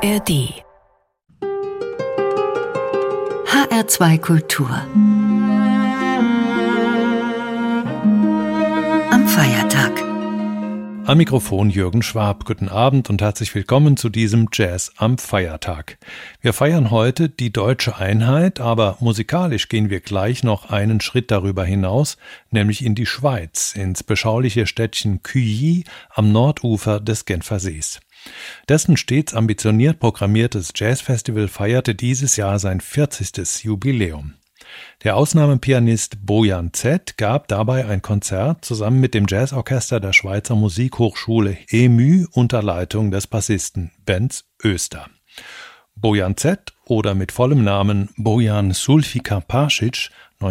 ARD HR2 Kultur am Feiertag. Am Mikrofon Jürgen Schwab. Guten Abend und herzlich willkommen zu diesem Jazz am Feiertag. Wir feiern heute die deutsche Einheit, aber musikalisch gehen wir gleich noch einen Schritt darüber hinaus, nämlich in die Schweiz, ins beschauliche Städtchen Cuilly am Nordufer des Genfersees. Dessen stets ambitioniert programmiertes Jazzfestival feierte dieses Jahr sein 40. Jubiläum. Der Ausnahmepianist Bojan Z. gab dabei ein Konzert zusammen mit dem Jazzorchester der Schweizer Musikhochschule EMU unter Leitung des Bassisten Benz Oester. Bojan Z. oder mit vollem Namen Bojan Sulfika-Pašić,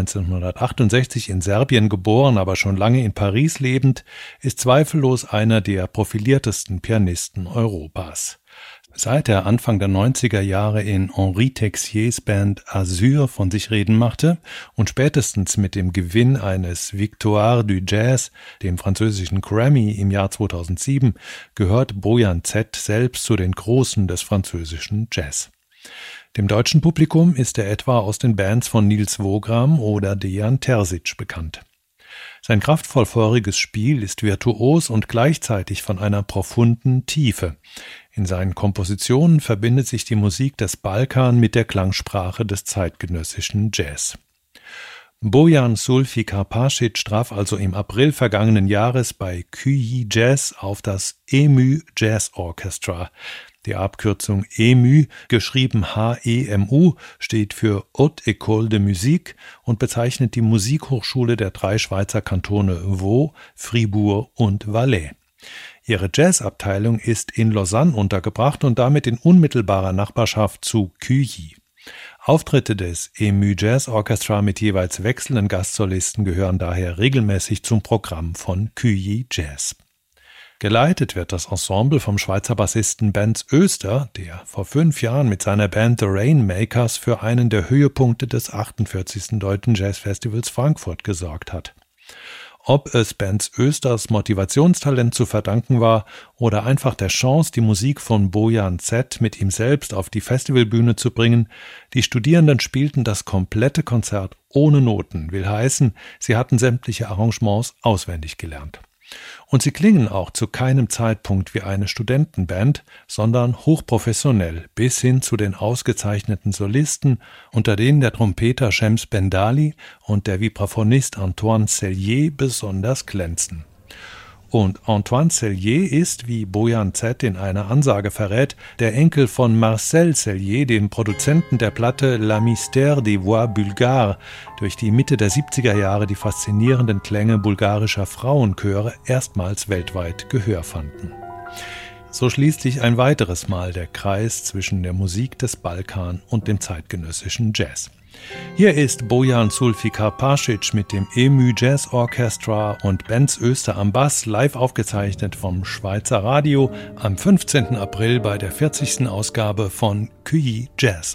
1968 in Serbien geboren, aber schon lange in Paris lebend, ist zweifellos einer der profiliertesten Pianisten Europas. Seit er Anfang der 90er Jahre in Henri Texiers Band Azur von sich reden machte und spätestens mit dem Gewinn eines Victoire du Jazz, dem französischen Grammy im Jahr 2007, gehört Bojan Z. selbst zu den Großen des französischen Jazz. Dem deutschen Publikum ist er etwa aus den Bands von Nils Wogram oder Dejan Terzic bekannt. Sein kraftvoll feuriges Spiel ist virtuos und gleichzeitig von einer profunden Tiefe. In seinen Kompositionen verbindet sich die Musik des Balkan mit der Klangsprache des zeitgenössischen Jazz. Bojan Sulfika-Pašić traf also im April vergangenen Jahres bei Cuilly Jazz auf das EMU Jazz Orchestra. Die Abkürzung EMU, geschrieben HEMU, steht für Haute École de Musique und bezeichnet die Musikhochschule der drei Schweizer Kantone Vaud, Fribourg und Valais. Ihre Jazzabteilung ist in Lausanne untergebracht und damit in unmittelbarer Nachbarschaft zu Cuilly. Auftritte des EMU Jazz Orchestra mit jeweils wechselnden Gastsolisten gehören daher regelmäßig zum Programm von Cuilly Jazz. Geleitet wird das Ensemble vom Schweizer Bassisten Benz Oester, der vor 5 Jahren mit seiner Band The Rainmakers für einen der Höhepunkte des 48. Deutschen Jazzfestivals Frankfurt gesorgt hat. Ob es Benz Oesters Motivationstalent zu verdanken war oder einfach der Chance, die Musik von Bojan Z. mit ihm selbst auf die Festivalbühne zu bringen, die Studierenden spielten das komplette Konzert ohne Noten, will heißen, sie hatten sämtliche Arrangements auswendig gelernt. Und sie klingen auch zu keinem Zeitpunkt wie eine Studentenband, sondern hochprofessionell bis hin zu den ausgezeichneten Solisten, unter denen der Trompeter Shams Bendali und der Vibraphonist Antoine Cellier besonders glänzen. Und Antoine Cellier ist, wie Bojan Z. in einer Ansage verrät, der Enkel von Marcel Cellier, dem Produzenten der Platte La Mystère des Voix Bulgares, durch die Mitte der 70er Jahre die faszinierenden Klänge bulgarischer Frauenchöre erstmals weltweit Gehör fanden. So schließt sich ein weiteres Mal der Kreis zwischen der Musik des Balkan und dem zeitgenössischen Jazz. Hier ist Bojan Sulfika-Pašić mit dem EMU Jazz Orchestra und Benz Oester am Bass, live aufgezeichnet vom Schweizer Radio am 15. April bei der 40. Ausgabe von Cuilly Jazz.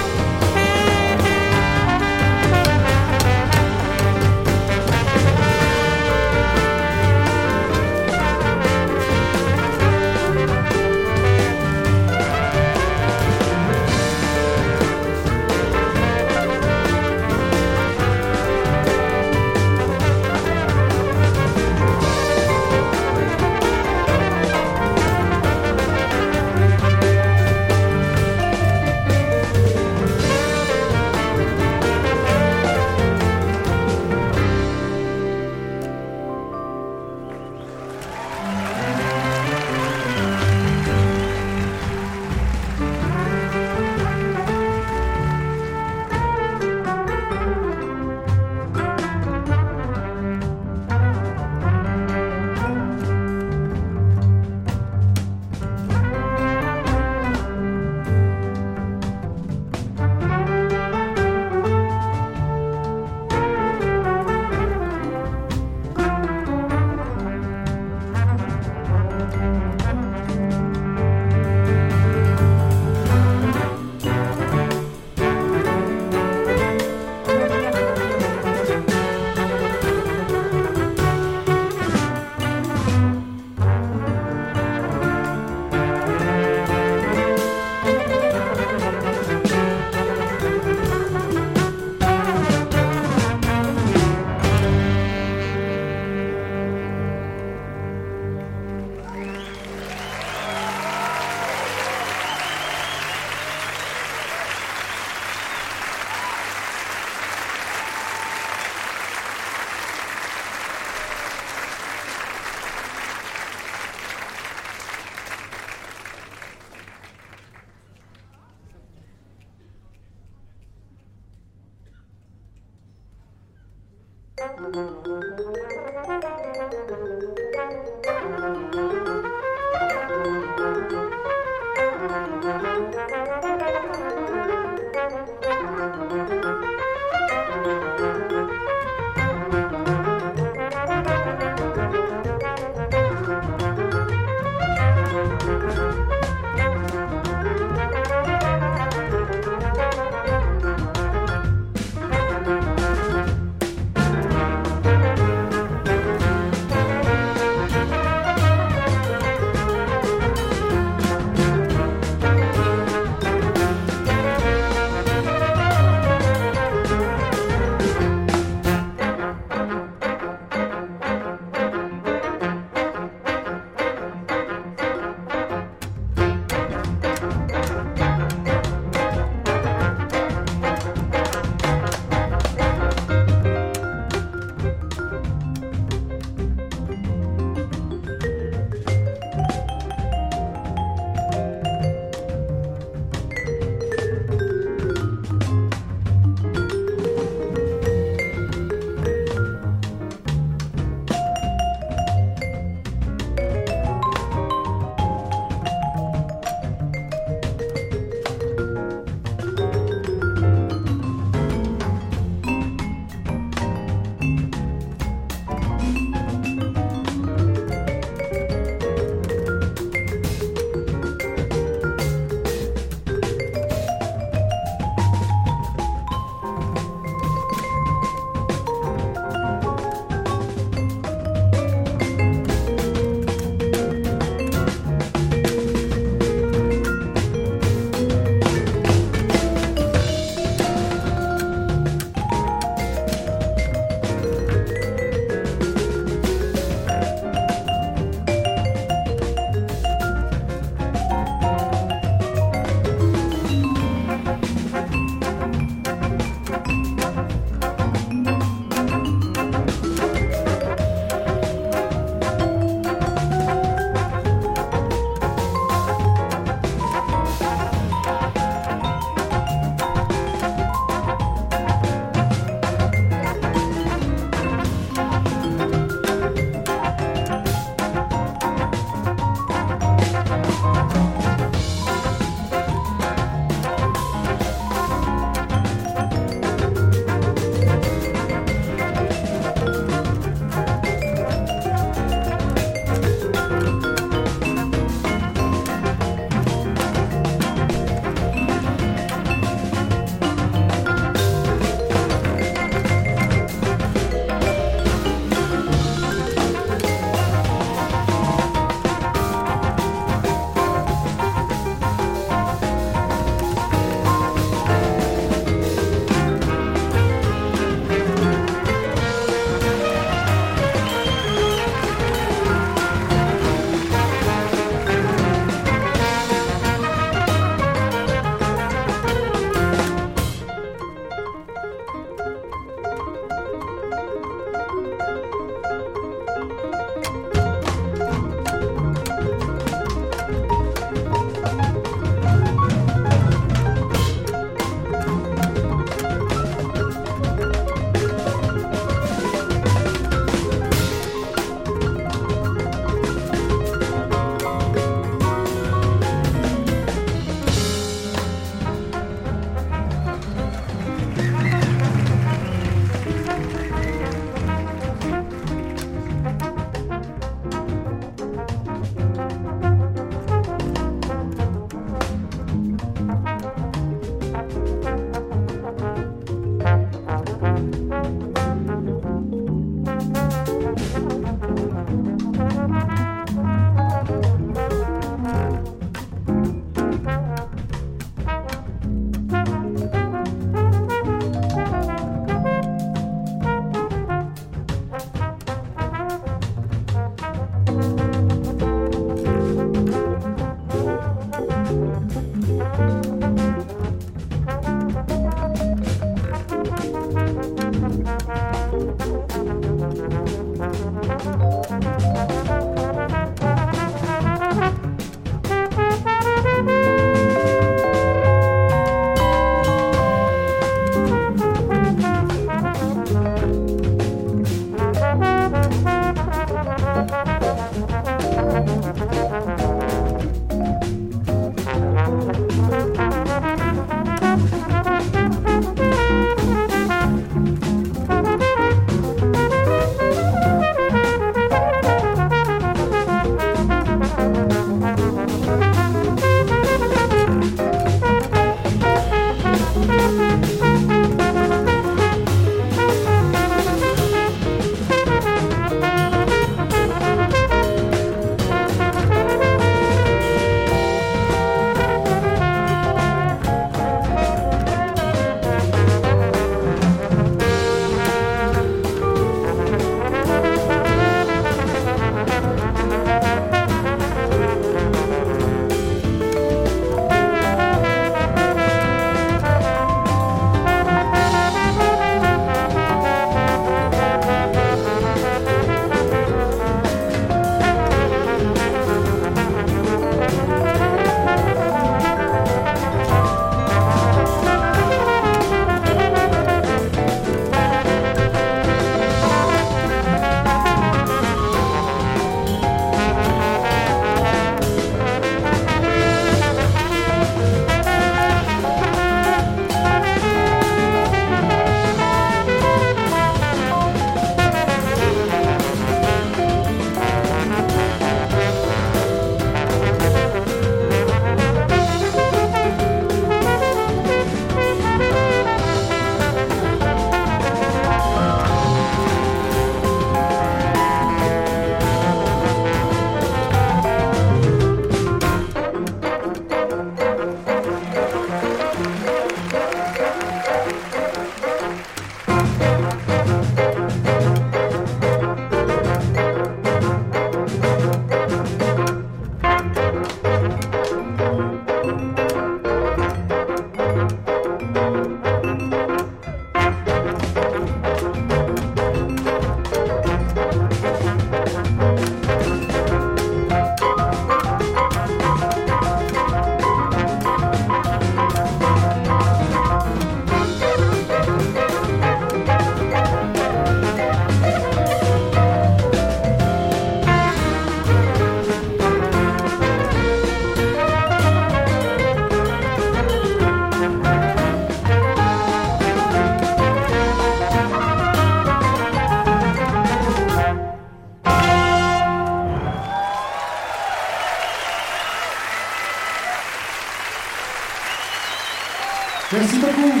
Merci beaucoup.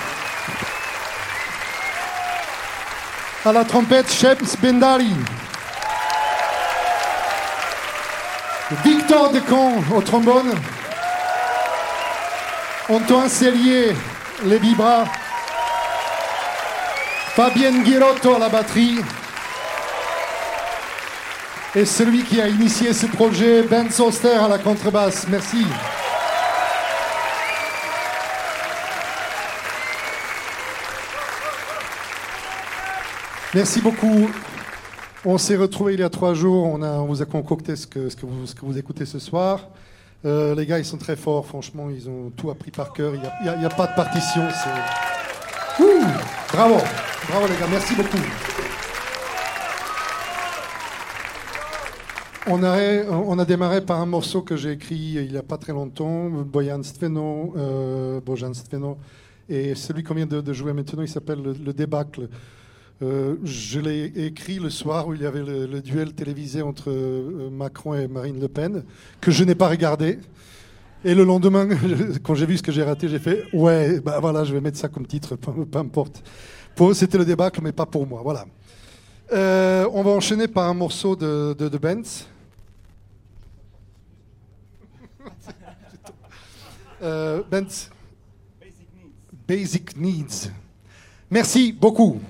À la trompette, Shems Bendali. Victor Decamp au trombone. Antoine Cellier, les vibras. Fabienne Guirotto à la batterie. Et celui qui a initié ce projet, Ben Soster à la contrebasse. Merci. Merci beaucoup. On s'est retrouvés il y a 3 jours. On vous a concocté ce que vous écoutez ce soir. Les gars, ils sont très forts. Franchement, ils ont tout appris par cœur. Il n'y a pas de partition. Bravo. Bravo les gars. Merci beaucoup. On a démarré par un morceau que j'ai écrit il n'y a pas très longtemps, Bojan Stveno, et celui qu'on vient de jouer maintenant, il s'appelle le Débâcle. Je l'ai écrit le soir où il y avait le duel télévisé entre Macron et Marine Le Pen, que je n'ai pas regardé. Et le lendemain, quand j'ai vu ce que j'ai raté, j'ai fait « Ouais, bah voilà, je vais mettre ça comme titre, peu importe. » C'était le Débâcle, mais pas pour moi, voilà. On va enchaîner par un morceau de Benz. Benz. Basic Needs. Merci beaucoup.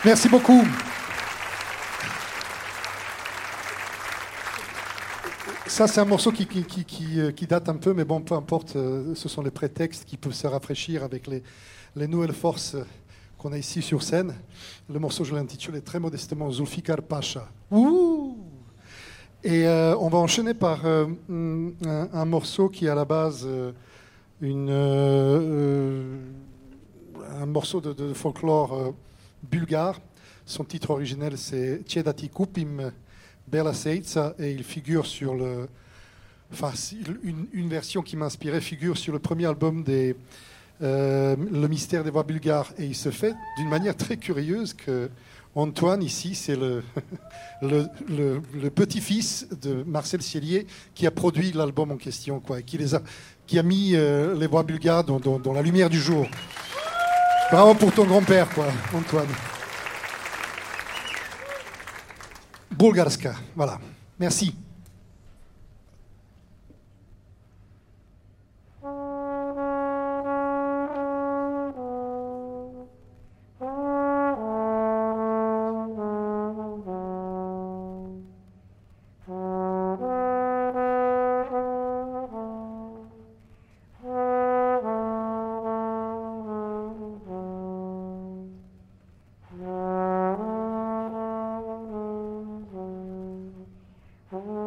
Merci beaucoup. Ça, c'est un morceau qui date un peu, mais bon, peu importe, ce sont les prétextes qui peuvent se rafraîchir avec les nouvelles forces qu'on a ici sur scène. Le morceau, je l'ai intitulé très modestement Zulfikar Pacha. Ouh! Et on va enchaîner par un morceau qui est à la base un morceau de folklore bulgare. Son titre originel, c'est Tjedati Kupim Bela Seica, et il figure sur le... Enfin, une version qui m'a inspiré figure sur le premier album Le Mystère des Voix bulgares. Et il se fait d'une manière très curieuse que Antoine, ici, c'est le petit-fils de Marcel Cielier qui a produit l'album en question, quoi, et qui a mis les voix bulgares dans la lumière du jour. Bravo pour ton grand-père, quoi, Antoine. Bulgarska, voilà. Merci. Oh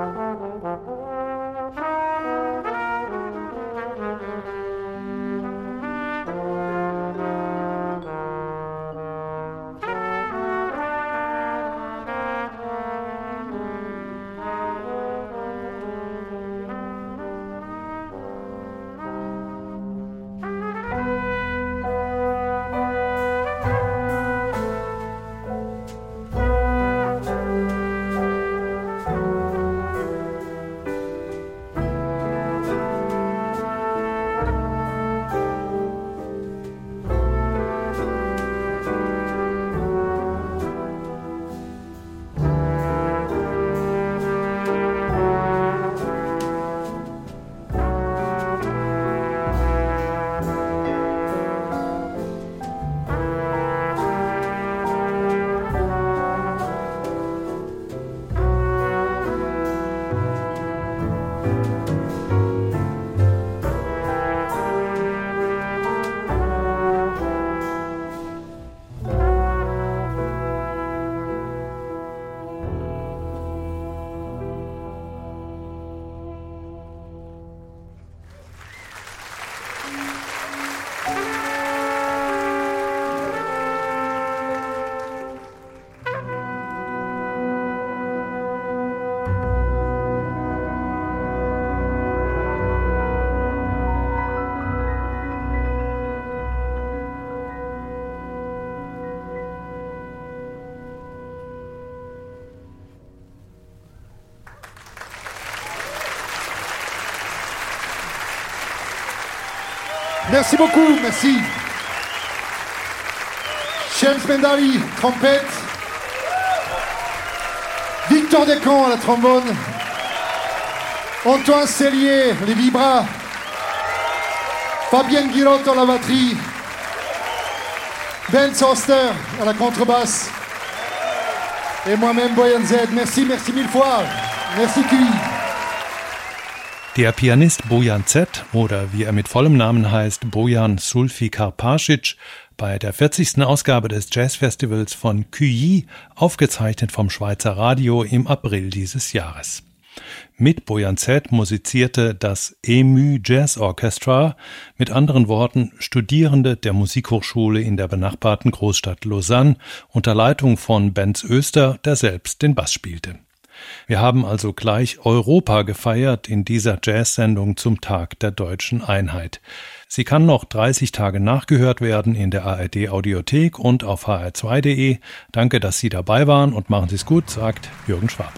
Merci beaucoup, merci. James Mendali, trompette. Victor Descamps à la trombone. Antoine Cellier, les vibras. Fabienne Guillotto à la batterie. Ben Soster à la contrebasse. Et moi-même, Boyan Z. Merci, merci mille fois. Merci, QI. Der Pianist Bojan Z. oder wie er mit vollem Namen heißt, Bojan Sulfi Karpasic, bei der 40. Ausgabe des Jazzfestivals von QI, aufgezeichnet vom Schweizer Radio im April dieses Jahres. Mit Bojan Z. musizierte das EMU Jazz Orchestra, mit anderen Worten Studierende der Musikhochschule in der benachbarten Großstadt Lausanne, unter Leitung von Benz Oester, der selbst den Bass spielte. Wir haben also gleich Europa gefeiert in dieser Jazz-Sendung zum Tag der deutschen Einheit. Sie kann noch 30 Tage nachgehört werden in der ARD-Audiothek und auf hr2.de. Danke, dass Sie dabei waren und machen Sie es gut, sagt Jürgen Schwab.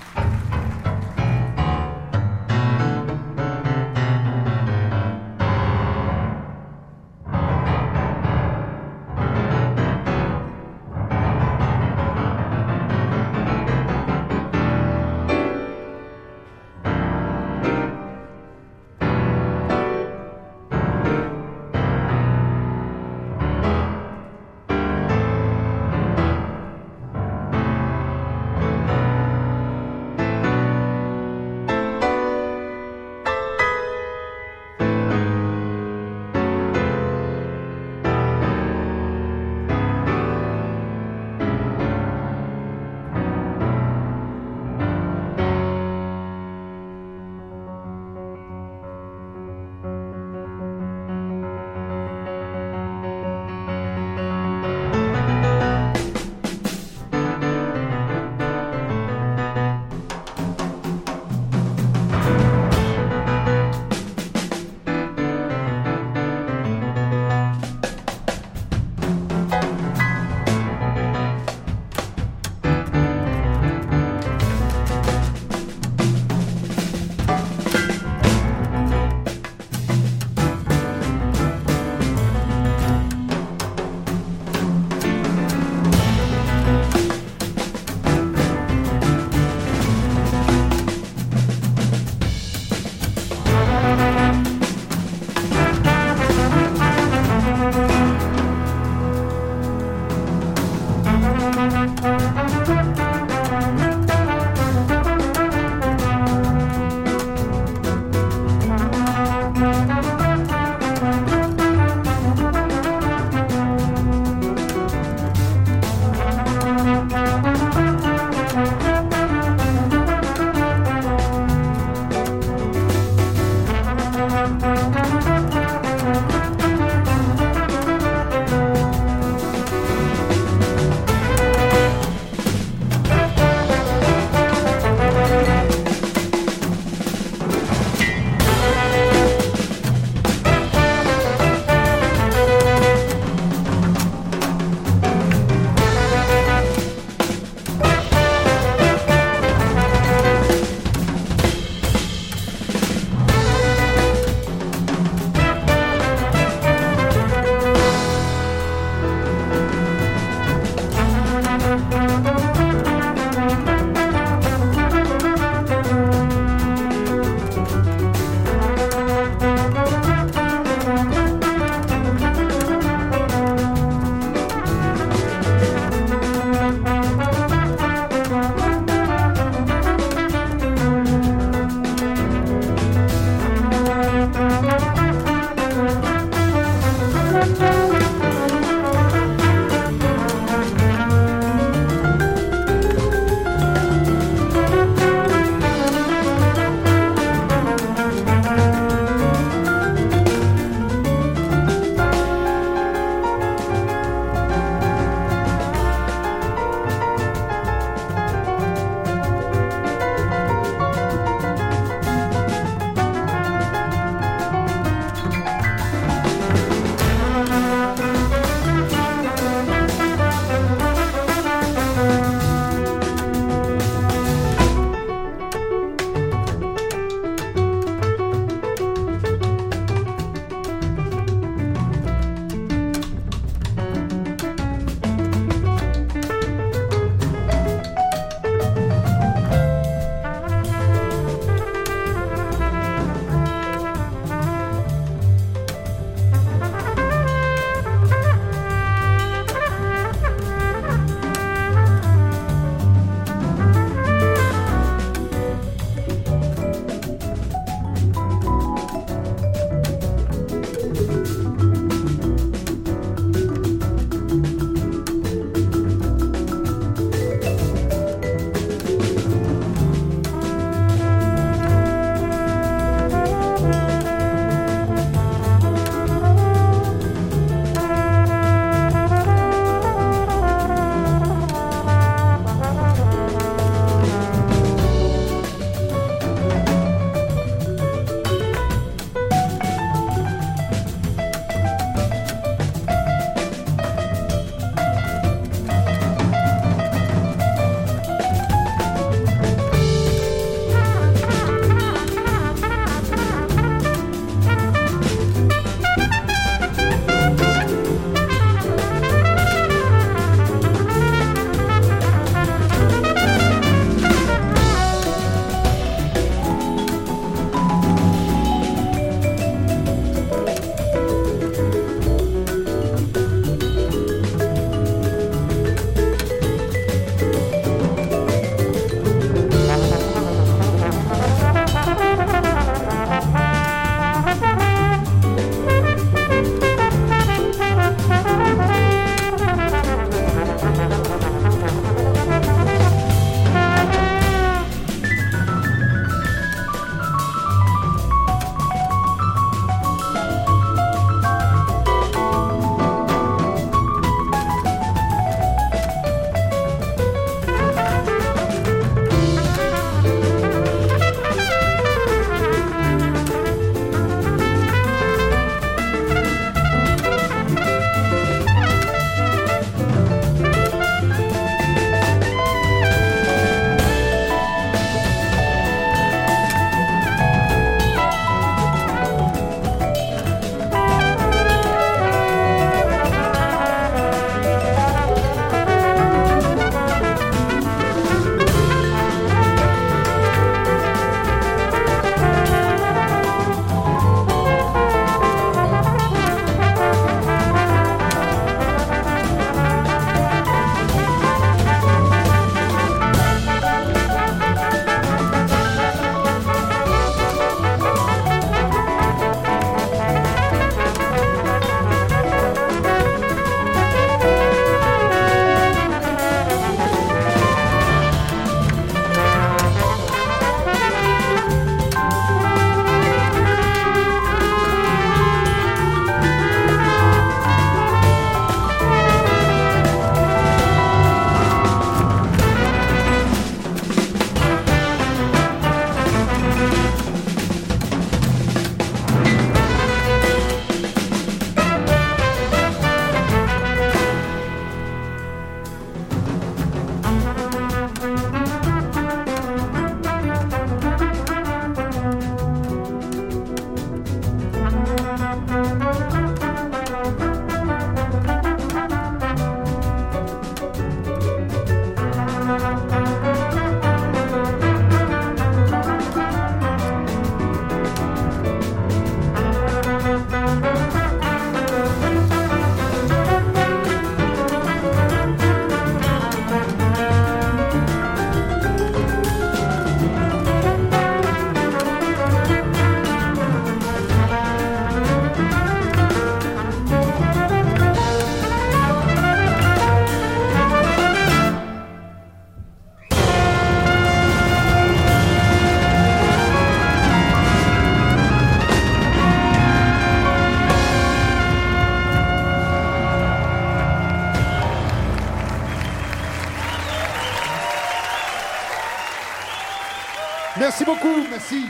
Merci beaucoup, merci.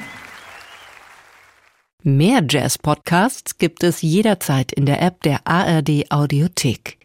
Mehr Jazz-Podcasts gibt es jederzeit in der App der ARD Audiothek.